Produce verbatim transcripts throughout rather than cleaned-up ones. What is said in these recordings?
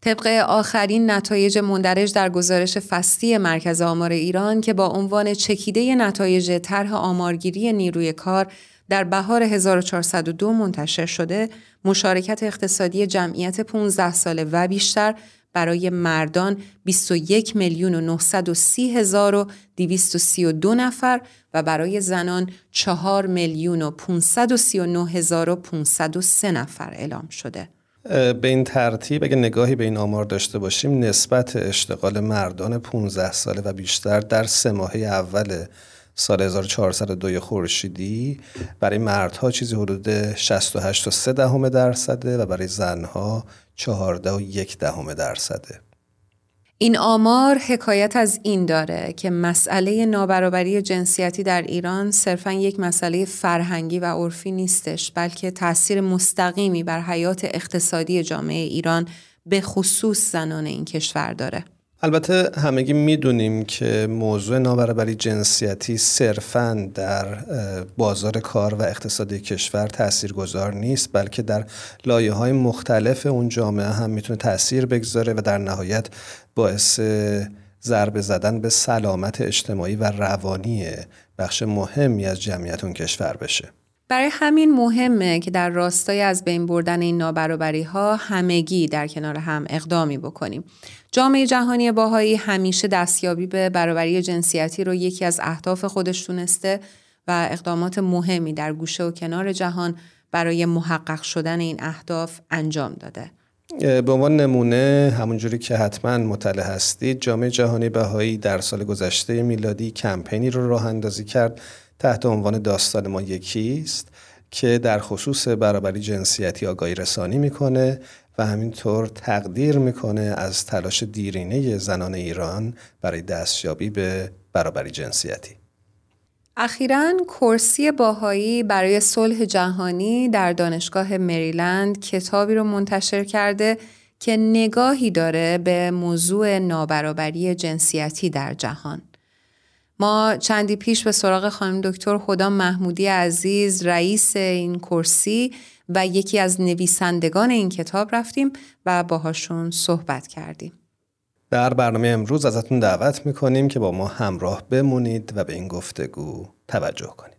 طبق آخرین نتایج مندرج در گزارش فصلی مرکز آمار ایران که با عنوان چکیده نتایج طرح آمارگیری نیروی کار در بهار هزار و چهارصد و دو منتشر شده، مشارکت اقتصادی جمعیت پانزده ساله و بیشتر برای مردان بیست و یک میلیون و نهصد و سی هزار و دویست و سی و دو نفر و برای زنان چهار میلیون و پانصد و سی و نه هزار و پانصد و سه نفر اعلام شده. به این ترتیب اگه نگاهی به این آمار داشته باشیم، نسبت اشتغال مردان پانزده ساله و بیشتر در سه ماهه اول سال هزار و چهارصد و دو خورشیدی برای مردها چیزی حدود شصت و هشت و سه دهم درصده و برای زنها چهارده و یک دهم درصده. این آمار حکایت از این داره که مسئله نابرابری جنسیتی در ایران صرفاً یک مسئله فرهنگی و عرفی نیستش، بلکه تأثیر مستقیمی بر حیات اقتصادی جامعه ایران به خصوص زنان این کشور داره. البته همگی میدونیم که موضوع نابرابری جنسیتی صرفاً در بازار کار و اقتصادی کشور تاثیرگذار نیست، بلکه در لایه‌های مختلف اون جامعه هم میتونه تاثیر بگذاره و در نهایت باعث ضربه زدن به سلامت اجتماعی و روانی بخش مهمی از جمعیت اون کشور بشه. برای همین مهمه که در راستای از بین بردن این نابرابری‌ها همگی در کنار هم اقدامی بکنیم. جامعه جهانی باهایی همیشه دستیابی به برابری جنسیتی رو یکی از اهداف خودش دونسته و اقدامات مهمی در گوشه و کنار جهان برای محقق شدن این اهداف انجام داده. به عنوان نمونه، همونجوری که حتما مطلع هستید، جامعه جهانی بهایی در سال گذشته میلادی کمپینی رو راه اندازی کرد تحت عنوان داستان ما یکیست که در خصوص برابری جنسیتی آگاهی رسانی میکنه و همینطور تقدیر میکنه از تلاش دیرینه زنان ایران برای دستیابی به برابری جنسیتی. اخیراً کرسی باهایی برای صلح جهانی در دانشگاه مریلند کتابی رو منتشر کرده که نگاهی داره به موضوع نابرابری جنسیتی در جهان. ما چندی پیش به سراغ خانم دکتر هدی محمودی عزیز، رئیس این کرسی و یکی از نویسندگان این کتاب رفتیم و باهاشون صحبت کردیم. در برنامه امروز ازتون دعوت میکنیم که با ما همراه بمونید و به این گفتگو توجه کنید.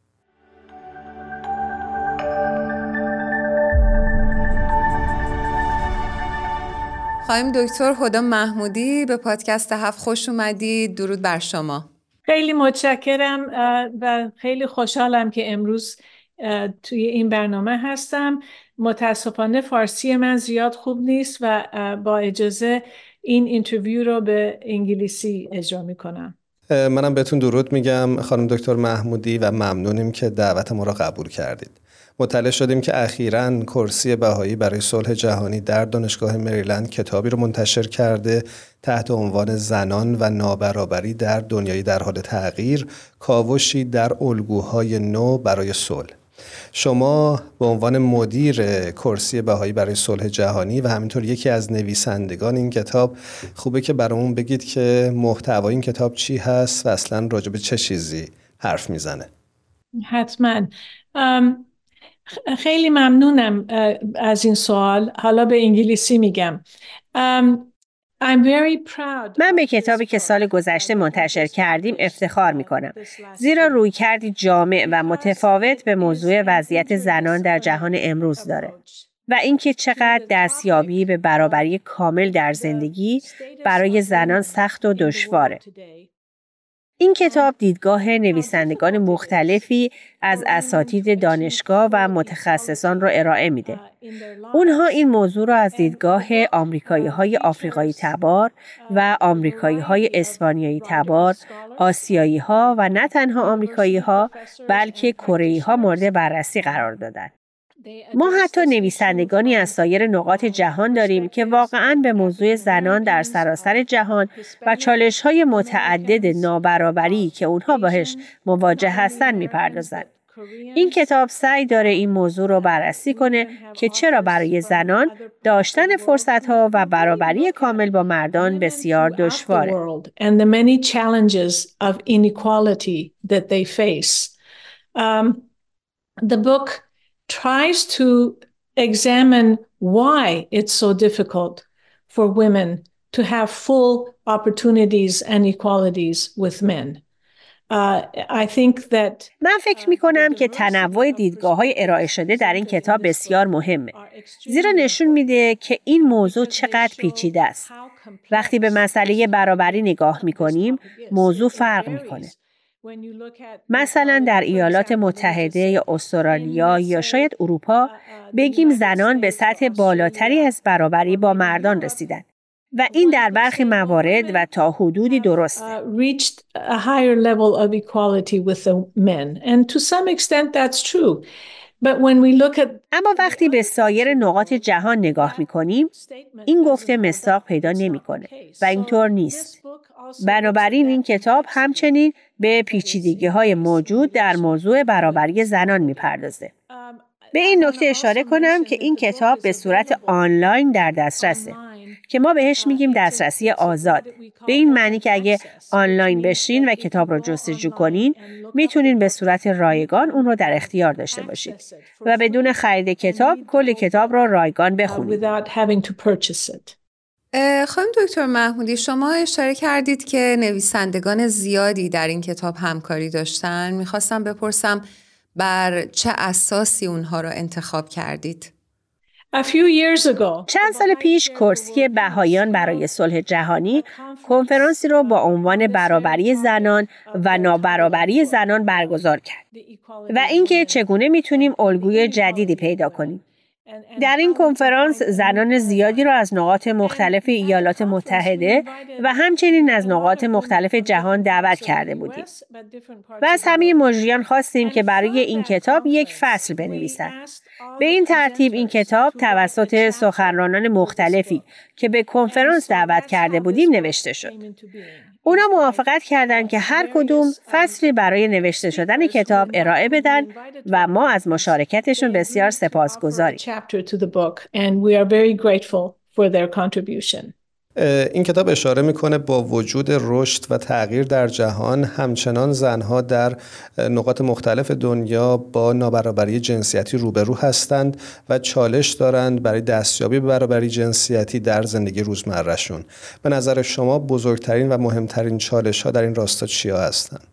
خانم دکتر هدی محمودی، به پادکست هفت خوش اومدید. درود بر شما. خیلی متشکرم و خیلی خوشحالم که امروز توی این برنامه هستم. متاسفانه فارسی من زیاد خوب نیست و با اجازه این اینترویو رو به انگلیسی اجرا میکنم. منم بهتون درود میگم خانم دکتر محمودی و ممنونیم که دعوت ما را قبول کردید. مطلع شدیم که اخیراً کرسی بهایی برای صلح جهانی در دانشگاه مریلند کتابی رو منتشر کرده تحت عنوان زنان و نابرابری در دنیای در حال تغییر، کاوشی در الگوهای نو برای صلح. شما به عنوان مدیر کرسی بهایی برای صلح جهانی و همینطور یکی از نویسندگان این کتاب، خوبه که برامون بگید که محتوای این کتاب چی هست و اصلاً راجع به چه چیزی حرف میزنه. حتماً. خیلی ممنونم از این سوال. حالا به انگلیسی میگم. من به کتابی که سال گذشته منتشر کردیم افتخار میکنم، زیرا رویکردی جامع و متفاوت به موضوع وضعیت زنان در جهان امروز داره و اینکه چقدر دستیابی به برابری کامل در زندگی برای زنان سخت و دشواره. این کتاب دیدگاه نویسندگان مختلفی از اساتید دانشگاه و متخصصان را ارائه میده. اونها این موضوع را از دیدگاه آمریکایی‌های آفریقایی تبار و آمریکایی‌های اسپانیایی تبار، آسیایی‌ها و نه تنها آمریکایی‌ها بلکه کره‌ای‌ها مورد بررسی قرار دادند. ما حتی نویسندگانی از سایر نقاط جهان داریم که واقعاً به موضوع زنان در سراسر جهان و چالش‌های متعدد نابرابری که اونها باهاش مواجه هستن می‌پردازند. این کتاب سعی داره این موضوع رو بررسی کنه که چرا برای زنان داشتن فرصت‌ها و برابری کامل با مردان بسیار دشواره. And the many challenges of inequality that they face. Um, the book tries to examine why it's so difficult for women to have full opportunities and equalities with men. Uh, I think that من فکر می کنم که تنوع دیدگاه‌های ارائه شده در این کتاب بسیار مهمه. زیرا نشون میده که این موضوع چقدر پیچیده است. وقتی به مسئله برابری نگاه می کنیم، موضوع فرق می کنه. مثلا در ایالات متحده یا استرالیا یا شاید اروپا بگیم زنان به سطح بالاتری از برابری با مردان رسیدن. و این در برخی موارد و تا حدودی درسته. reached a higher level of equality with the men and to some extent that's true. But when we look at اما وقتی به سایر نقاط جهان نگاه می‌کنیم، این گفته مصداق پیدا نمی‌کنه و اینطور نیست. بنابراین این کتاب همچنین به پیچیدگی‌های موجود در موضوع برابری زنان می‌پردازه. به این نکته اشاره کنم که این کتاب به صورت آنلاین در دسترسه که ما بهش میگیم دسترسی آزاد. به این معنی که اگه آنلاین بشین و کتاب رو جستجو کنین میتونین به صورت رایگان اون رو در اختیار داشته باشید و بدون خرید کتاب کل کتاب رو رایگان بخونید. خانم دکتر محمودی، شما اشاره کردید که نویسندگان زیادی در این کتاب همکاری داشتن. میخواستم بپرسم بر چه اساسی اونها رو انتخاب کردید؟ چند سال پیش کرسی بهاییان برای صلح جهانی کنفرانسی را با عنوان برابری زنان و نابرابری زنان برگزار کرد و اینکه چگونه میتونیم الگوی جدیدی پیدا کنیم. در این کنفرانس زنان زیادی را از نقاط مختلف ایالات متحده و همچنین از نقاط مختلف جهان دعوت کرده بودیم. و از همه مجریان خواستیم که برای این کتاب یک فصل بنویسند. به این ترتیب این کتاب توسط سخنرانان مختلفی که به کنفرانس دعوت کرده بودیم نوشته شد. اونا موافقت کردند که هر کدوم فصلی برای نوشته شدن کتاب ارائه بدن و ما از مشارکتشون بسیار سپاسگزاریم. این کتاب اشاره میکنه با وجود رشد و تغییر در جهان همچنان زنها در نقاط مختلف دنیا با نابرابری جنسیتی روبرو هستند و چالش دارند برای دستیابی به برابری جنسیتی در زندگی روزمرهشون. به نظر شما بزرگترین و مهمترین چالش ها در این راستا چیا هستند؟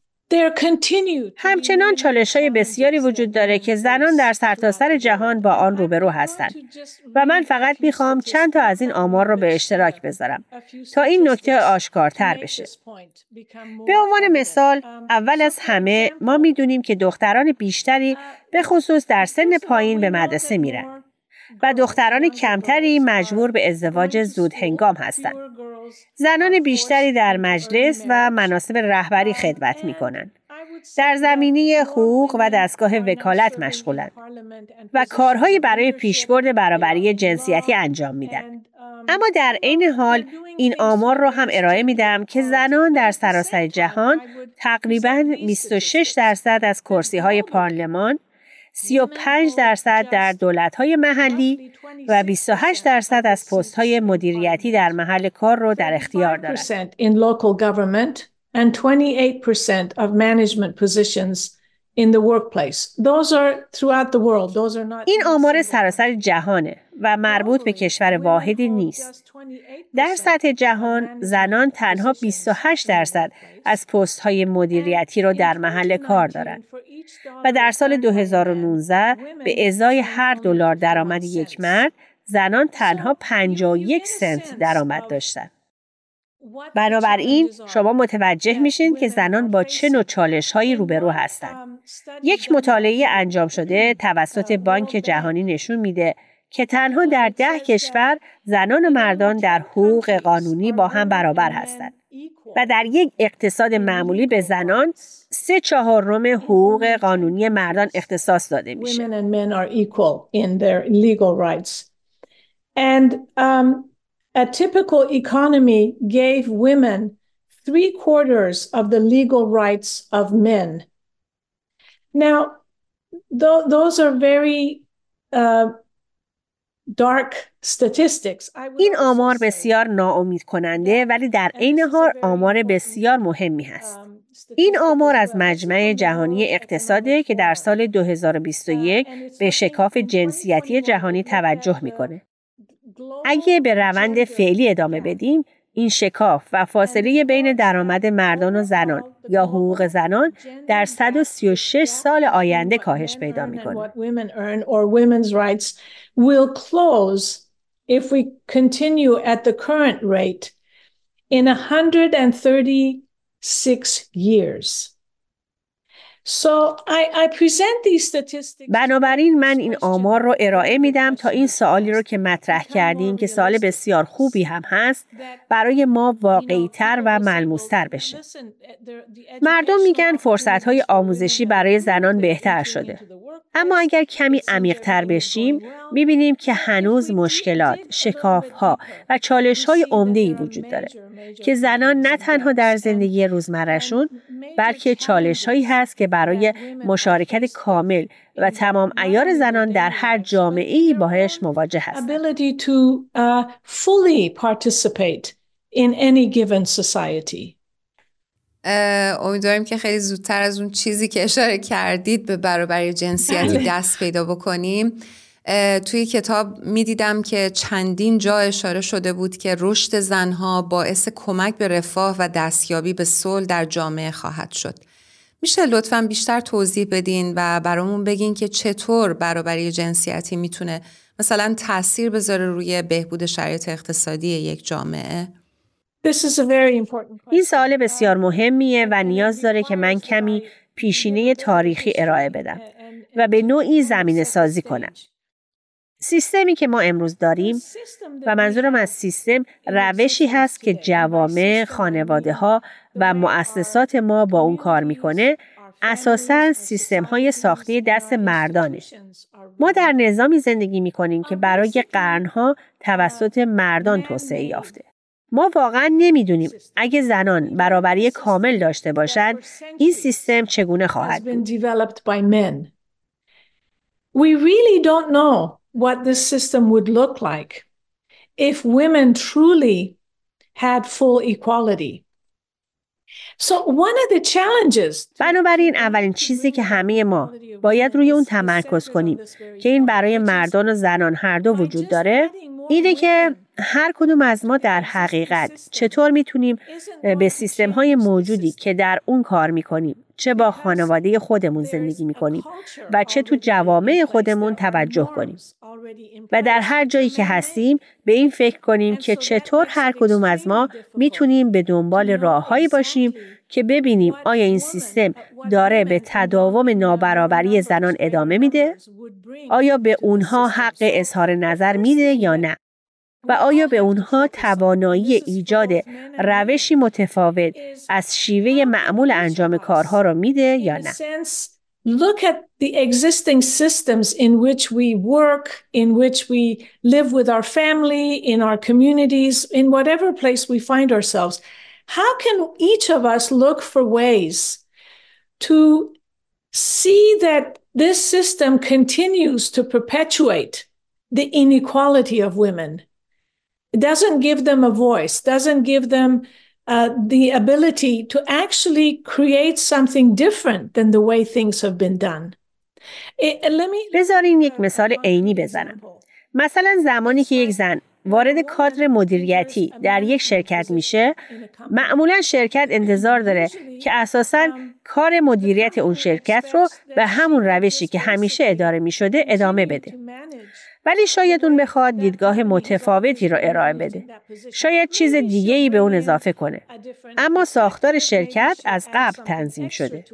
همچنان چالش‌های بسیاری وجود داره که زنان در سرتاسر جهان با آن روبرو هستند و من فقط میخوام چند تا از این آمار رو به اشتراک بذارم تا این نکته آشکارتر بشه. به عنوان مثال، اول از همه ما میدونیم که دختران بیشتری به خصوص در سن پایین به مدرسه میرن و دختران کمتری مجبور به ازدواج زود هنگام هستند. زنان بیشتری در مجلس و مناصب رهبری خدمت می‌کنند. در زمینه حقوق و دستگاه وکالت مشغولند و کارهایی برای پیشبرد برابری جنسیتی انجام میدن. اما در عین حال این آمار رو هم ارائه میدم که زنان در سراسر جهان تقریباً بیست و شش درصد از کرسی‌های پارلمان، سی و پنج درصد در دولت‌های محلی و بیست و هشت درصد از پست‌های مدیریتی در محل کار رو در اختیار دارند. and twenty-eight percent of management positions in the workplace. Those are throughout the world. Those are not. این آمار سراسر جهانه و مربوط به کشور واحدی نیست. در سطح جهان زنان تنها بیست و هشت درصد از پست‌های مدیریتی رو در محل کار دارند و در سال دو هزار و نوزده به ازای هر دلار درآمد یک مرد زنان تنها پنجاه و یک سنت درآمد داشتند. بنابراین شما متوجه میشین که زنان با چه نوع چالش‌هایی روبرو هستند. یک مطالعه انجام شده توسط بانک جهانی نشون میده که تنها در ده کشور زنان و مردان در حقوق قانونی با هم برابر هستند و در یک اقتصاد معمولی به زنان سه چهارم حقوق قانونی مردان اختصاص داده میشه. A typical economy gave women three quarters of the legal rights of men. Now, th- those are very uh, dark statistics. این آمار بسیار ناامید کننده ولی در عین حال آمار بسیار مهمی هست. این آمار از مجمع جهانی اقتصاده که در سال دو هزار و بیست و یک به شکاف جنسیتی جهانی توجه میکنه. اگه به روند فعلی ادامه بدیم، این شکاف و فاصله بین درآمد مردان و زنان یا حقوق زنان در صد و سی و شش سال آینده کاهش پیدا می‌کنه. If we continue at the current rate in one hundred thirty-six years. So I, I present these statistics. بنابراین من این آمار رو ارائه میدم تا این سوالی رو که مطرح کردیم که سوال بسیار خوبی هم هست برای ما واقعی‌تر و ملموس‌تر بشه. مردم میگن فرصت‌های آموزشی برای زنان بهتر شده. اما اگر کمی عمیق‌تر بشیم می‌بینیم که هنوز مشکلات، شکاف‌ها و چالش‌های عمده‌ای وجود داره که زنان نه تنها در زندگی روزمره‌شون بلکه چالش‌هایی هست که برای مشارکت کامل و تمام عیار زنان در هر جامعه‌ای باهاش مواجه هستند. Ability to uh, fully participate in any given society. امیدواریم که خیلی زودتر از اون چیزی که اشاره کردید به برابری جنسیتی دست پیدا بکنیم. توی کتاب میدیدم که چندین جا اشاره شده بود که رشد زنها باعث کمک به رفاه و دستیابی به صلح در جامعه خواهد شد. میشه لطفاً بیشتر توضیح بدین و برامون بگین که چطور برابری جنسیتی میتونه مثلا تأثیر بذاره روی بهبود شرایط اقتصادی یک جامعه؟ این سوال بسیار مهمیه و نیاز داره که من کمی پیشینه تاریخی ارائه بدم و به نوعی زمینه سازی کنم. سیستمی که ما امروز داریم و منظورم از سیستم روشی هست که جوامع، خانواده‌ها و مؤسسات ما با اون کار میکنه، اساساً سیستم‌های ساخته دست مردانه. ما در نظامی زندگی میکنیم که برای قرنها توسط مردان توسعه یافته. ما واقعاً نمیدونیم اگه زنان برابری کامل داشته باشند این سیستم چگونه خواهد بود. We really don't know what this system would look like if women truly had full equality. So one of the challenges. بنابراین اولین چیزی که همه ما باید روی اون تمرکز کنیم که این برای مردان و زنان هر دو وجود داره، اینه که هر کدوم از ما در حقیقت چطور میتونیم به سیستم‌های موجودی که در اون کار میکنیم، چه با خانواده خودمون زندگی میکنیم و چه تو جوامع خودمون توجه کنیم و در هر جایی که هستیم به این فکر کنیم که چطور هر کدوم از ما میتونیم به دنبال راههایی باشیم که ببینیم آیا این سیستم داره به تداوم نابرابری زنان ادامه میده؟ آیا به اونها حق اظهار نظر میده یا نه؟ و آیا به اونها توانایی ایجاد روشی متفاوت از شیوه معمول انجام کارها رو میده یا نه؟ Look at the existing systems in which we work, in which we live with our family, in our communities, in whatever place we find ourselves. How can each of us look for ways to see that this system continues to perpetuate the inequality of women? It doesn't give them a voice, doesn't give them uh, the ability to actually create something different than the way things have been done. It, let me, بذارین یک مثال عینی بزنم. مثلا زمانی که یک زن وارد کادر مدیریتی در یک شرکت میشه، معمولا شرکت انتظار داره که اساساً کار مدیریت اون شرکت رو به همون روشی که همیشه اداره میشده ادامه بده. ولی شاید اون بخواد دیدگاه متفاوتی رو ارائه بده. شاید چیز دیگه‌ای به اون اضافه کنه. اما ساختار شرکت از قبل تنظیم شده.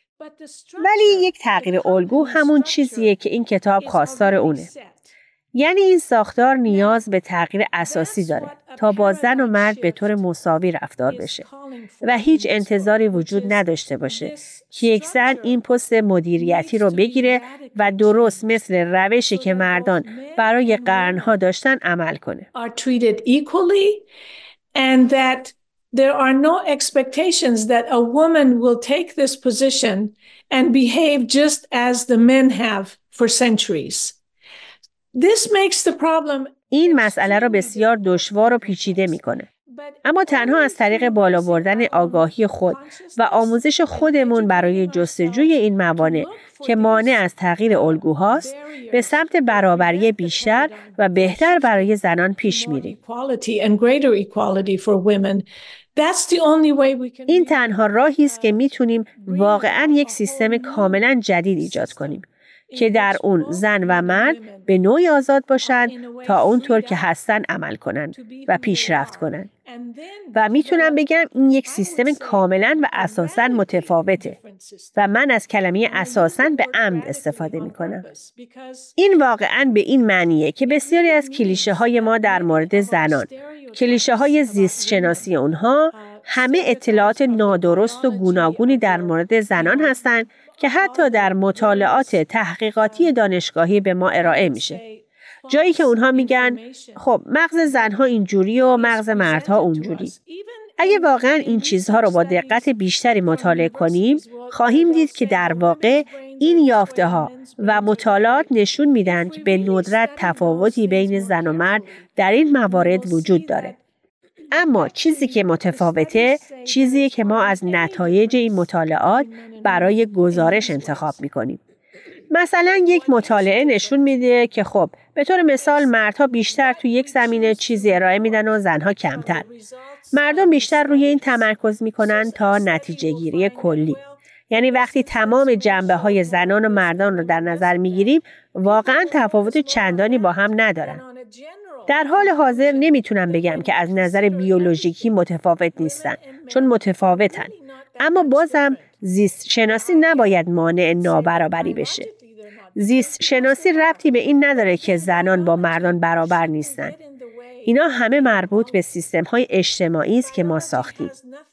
ولی یک تغییر الگو همون چیزیه که این کتاب خواستار اونه. یعنی این ساختار نیاز به تغییر اساسی داره تا با زن و مرد به طور مساوی رفتار بشه و هیچ انتظاری وجود نداشته باشه که یک زن این پست مدیریتی رو بگیره و درست مثل روشی که مردان برای قرنها داشتن عمل کنه. And that there are no expectations that a woman will take this position and behave just as the men have for centuries. This makes the problem. این مسئله را بسیار دشوار و پیچیده میکنه. اما تنها از طریق بالا بردن آگاهی خود و آموزش خودمون برای جستجوی این موانع که مانع از تغییر الگوهاست به سمت برابری بیشتر و بهتر برای زنان پیش میریم. این تنها راهی است که میتونیم واقعاً یک سیستم کاملاً جدید ایجاد کنیم که در اون زن و مرد به نوعی آزاد باشند تا اونطور که هستن عمل کنند و پیشرفت کنند. و میتونم بگم این یک سیستم کاملاً و اساساً متفاوته و من از کلمه اساساً به عمد استفاده میکنم. این واقعاً به این معنیه که بسیاری از کلیشه های ما در مورد زنان، کلیشه های زیست شناسی اونها همه اطلاعات نادرست و گوناگونی در مورد زنان هستند که حتی در مطالعات تحقیقاتی دانشگاهی به ما ارائه میشه. جایی که اونها میگن خب مغز زنها اینجوری و مغز مردها اونجوری. اگه واقعا این چیزها رو با دقت بیشتری مطالعه کنیم، خواهیم دید که در واقع این یافته ها و مطالعات نشون میدن که به ندرت تفاوتی بین زن و مرد در این موارد وجود داره. اما چیزی که متفاوته، چیزی که ما از نتایج این مطالعات برای گزارش انتخاب میکنیم. مثلا یک مطالعه نشون میده که خب به طور مثال مردها بیشتر تو یک زمینه چیزی ارائه میدن و زنها کمتر. مردم بیشتر روی این تمرکز میکنن تا نتیجه گیری کلی. یعنی وقتی تمام جنبه های زنان و مردان رو در نظر میگیریم، واقعا تفاوت چندانی با هم ندارن. در حال حاضر نمیتونم بگم که از نظر بیولوژیکی متفاوت نیستن، چون متفاوتن. اما بازم زیست شناسی نباید مانع نابرابری بشه. زیست شناسی ربطی به این نداره که زنان با مردان برابر نیستن. اینا همه مربوط به سیستم‌های اجتماعی است که ما ساختیم.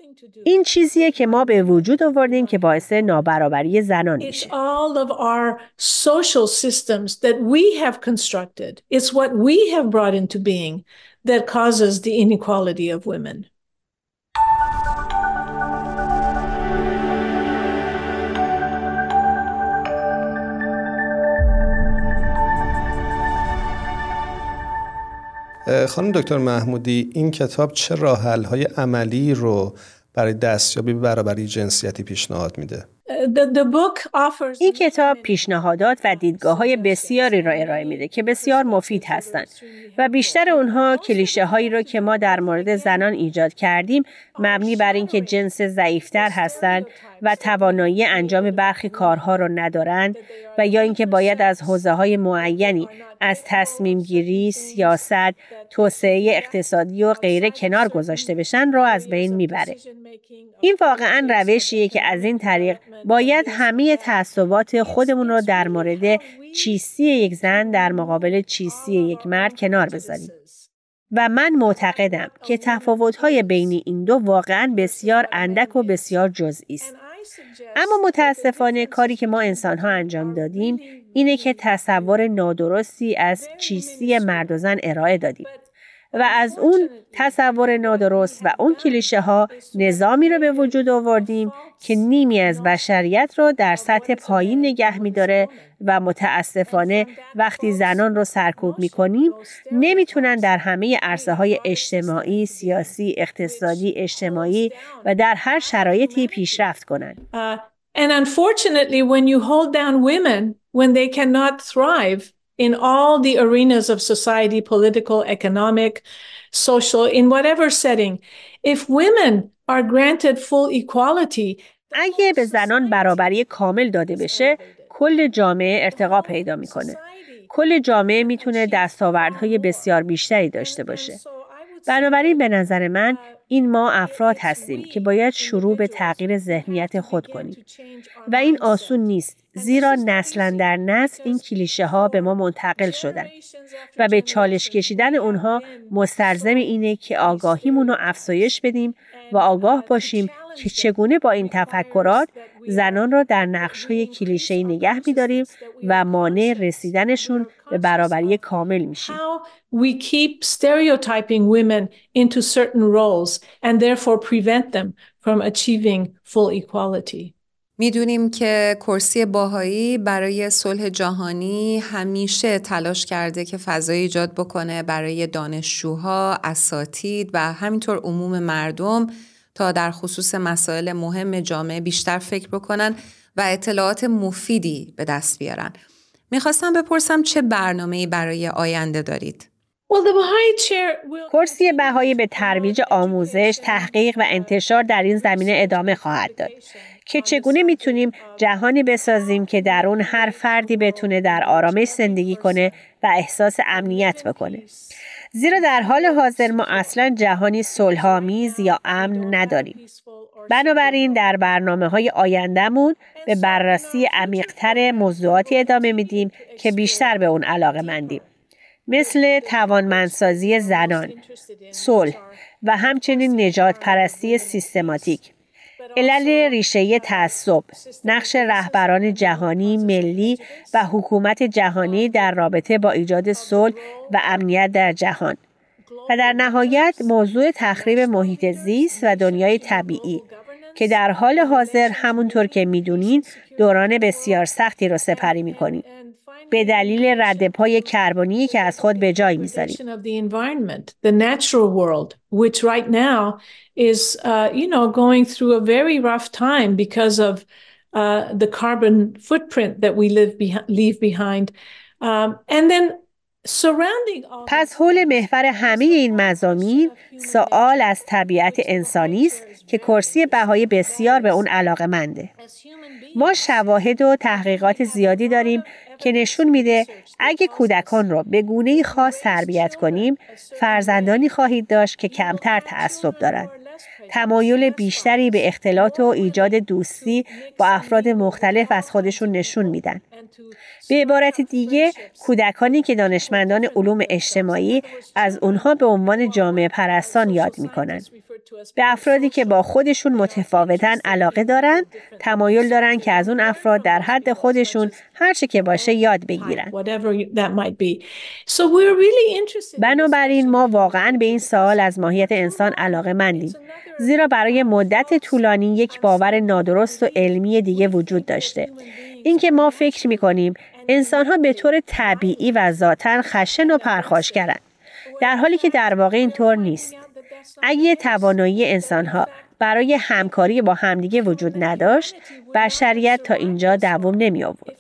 این چیزیه که ما به وجود آوردیم که باعث نابرابری زنان میشه. It's all of our social systems that we have constructed. It's what we have brought into being that causes the inequality of women. خانم دکتر محمودی، این کتاب چه راه‌حل‌های عملی رو برای دستیابی به برابری جنسیتی پیشنهاد میده؟ این کتاب پیشنهادات و دیدگاه‌های بسیاری را ارائه میده که بسیار مفید هستند و بیشتر اونها کلیشه هایی را که ما در مورد زنان ایجاد کردیم مبنی بر اینکه جنس ضعیفتر هستند و توانایی انجام برخی کارها را ندارند و یا اینکه باید از حوزه‌های معینی از تصمیم گیری، سیاست، توسعه اقتصادی و غیره کنار گذاشته بشن را از بین میبره. این واقعاً روشیه که از این طریق باید همه تعصبات خودمون رو در مورد چیستی یک زن در مقابل چیستی یک مرد کنار بذاریم. و من معتقدم که تفاوت‌های بین این دو واقعاً بسیار اندک و بسیار جزئی است. اما متاسفانه کاری که ما انسان‌ها انجام دادیم اینه که تصور نادرستی از چیستی مرد و زن ارائه دادیم. و از اون تصور نادرست و اون کلیشه ها نظامی رو به وجود آوردیم که نیمی از بشریت رو در سطح پایین نگه می‌داره و متاسفانه وقتی زنان رو سرکوب می‌کنیم نمیتونن در همه عرصه‌های اجتماعی، سیاسی، اقتصادی، اجتماعی و در هر شرایطی پیشرفت کنن. Uh, and unfortunately when you hold down women when they cannot thrive in all the arenas of society, political, economic, social, in whatever setting. If women are granted full equality, اگه به زنان برابری کامل داده بشه، کل جامعه ارتقا پیدا میکنه. کل جامعه میتونه دستاوردهای بسیار بیشتری داشته باشه. بنابراین به نظر من این ما افراد هستیم که باید شروع به تغییر ذهنیت خود کنیم. و این آسون نیست، زیرا نسلا در نسل این کلیشه ها به ما منتقل شدن و به چالش کشیدن اونها مستلزم اینه که آگاهیمون رو افزایش بدیم و آگاه باشیم که چگونه با این تفکرات زنان را در نقش‌های کلیشه‌ای نگه می‌داریم و مانع رسیدنشون به برابری کامل میشیم. We keep stereotyping women into certain roles and therefore prevent them from achieving full equality. میدونیم که کرسی باهایی برای صلح جهانی همیشه تلاش کرده که فضای ایجاد بکنه برای دانشجوها، اساتید و همینطور عموم مردم تا در خصوص مسائل مهم جامعه بیشتر فکر بکنن و اطلاعات مفیدی به دست بیارن. میخواستم بپرسم چه برنامه‌ای برای آینده دارید؟ کرسی بهایی به ترویج آموزش، تحقیق و انتشار در این زمینه ادامه خواهد داد که چگونه میتونیم جهانی بسازیم که در اون هر فردی بتونه در آرامش زندگی کنه و احساس امنیت بکنه. زیرا در حال حاضر ما اصلاً جهانی صلح‌آمیز یا امن نداریم. بنابراین در برنامه‌های آینده‌مون به بررسی عمیق‌تر موضوعاتی ادامه میدیم که بیشتر به اون علاقه‌مندیم. مثل توانمندسازی زنان، صلح و همچنین نجات پرستی سیستماتیک، علل ریشه‌ای تعصب، نقش رهبران جهانی، ملی و حکومت جهانی در رابطه با ایجاد صلح و امنیت در جهان و در نهایت موضوع تخریب محیط زیست و دنیای طبیعی که در حال حاضر همونطور که میدونین دوران بسیار سختی رو سپری میکنیم به دلیل ردپای کربنی که از خود به جای میذاریم. The natural world, which right now is, uh, you know, going through a very rough time because of uh, the carbon footprint that we live behi- leave behind. Um, and then surrounding all پس حول محور همه این مضامین سوال از طبیعت انسانی است که کرسی بهایی بسیار به اون علاقه‌منده. ما شواهد و تحقیقات زیادی داریم که نشون میده اگه کودکان رو به گونه‌ای خاص تربیت کنیم، فرزندانی خواهید داشت که کمتر تعصب دارند. تمایل بیشتری به اختلاط و ایجاد دوستی با افراد مختلف از خودشون نشون میدن. به عبارت دیگه، کودکانی که دانشمندان علوم اجتماعی از اونها به عنوان جامعه پرستان یاد میکنن. به افرادی که با خودشون متفاوتن علاقه دارن، تمایل دارن که از اون افراد در حد خودشون هر چه که باشه یاد بگیرن. بنابراین ما واقعاً به این سوال از ماهیت انسان علاقه مندیم. زیرا برای مدت طولانی یک باور نادرست و علمی دیگه وجود داشته. اینکه ما فکر می‌کنیم انسان‌ها به طور طبیعی و ذاتاً خشن و پرخاشگرند، در حالی که در واقع اینطور نیست. اگه توانایی انسان‌ها برای همکاری با همدیگه وجود نداشت، بشریت تا اینجا دوام نمی آورد.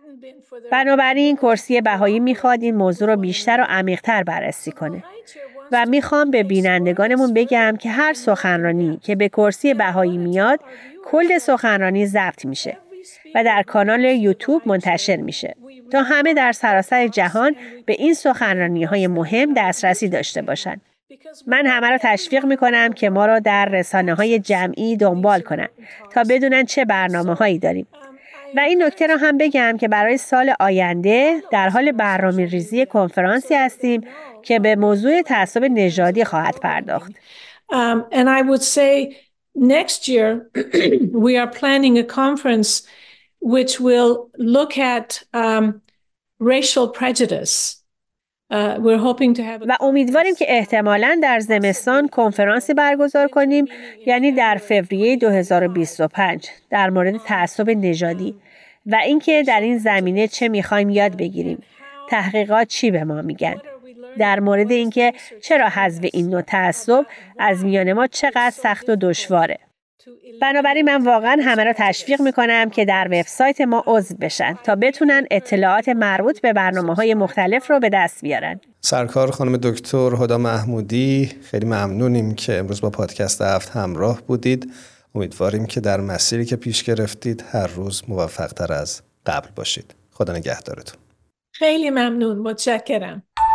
بنابراین کرسی بهایی میخواد این موضوع رو بیشتر و عمیق‌تر بررسی کنه. و میخوام به بینندگانمون بگم که هر سخنرانی که به کرسی بهایی میاد، کل سخنرانی ضبط میشه و در کانال یوتیوب منتشر میشه تا همه در سراسر جهان به این سخنرانی‌های مهم دسترسی داشته باشن. من همه را تشویق میکنم که ما را در رسانه‌های جمعی دنبال کنن تا بدونن چه برنامه‌هایی داریم. و این نکته را هم بگم که برای سال آینده در حال برنامه‌ریزی کنفرانسی هستیم که به موضوع تعصب نژادی خواهد پرداخت. Um, and I would say next year we are planning a conference which will look at um, racial prejudice. Uh, we're hoping to have a... و امیدواریم که احتمالاً در زمستان کنفرانسی برگزار کنیم، یعنی در فوریه دو هزار و بیست و پنج، در مورد تعصب نژادی و اینکه در این زمینه چه می‌خوایم یاد بگیریم. تحقیقات چی به ما میگن؟ در مورد اینکه چرا حذف این نوع تعصب از میان ما چقدر سخت و دشواره. بنابراین من واقعا همه را تشویق میکنم که در وبسایت ما عضو بشن تا بتونن اطلاعات مربوط به برنامه‌های مختلف رو به دست بیارن. سرکار خانم دکتر هدی محمودی، خیلی ممنونیم که امروز با پادکست هفت همراه بودید. امیدواریم که در مسیری که پیش گرفتید هر روز موفق‌تر از قبل باشید. خدا نگهدارتون. خیلی ممنون، متشکرم.